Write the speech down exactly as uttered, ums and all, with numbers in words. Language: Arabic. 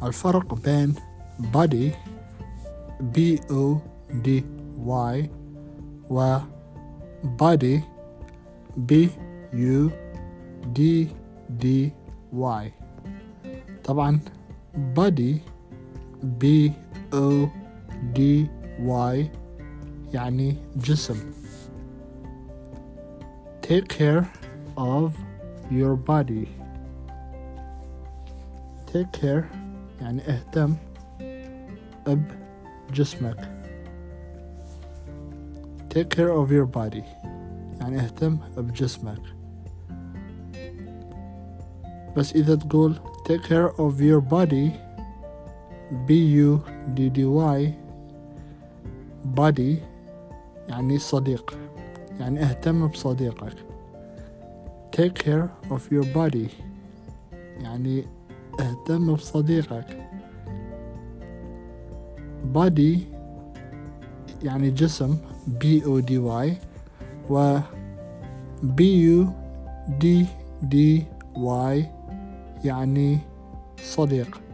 الفرق بين body B O D Y و body B U D D Y. طبعا body B O D Y يعني جسم. Take care of your body. Take care يعني اهتم بجسمك. Take care of your body يعني اهتم بجسمك. بس إذا تقول take care of your body B U D D Y body يعني صديق، يعني اهتم بصديقك. take care of your body يعني اهتم بصديقك. body يعني جسم B O D Y و B U D D Y يعني صديق.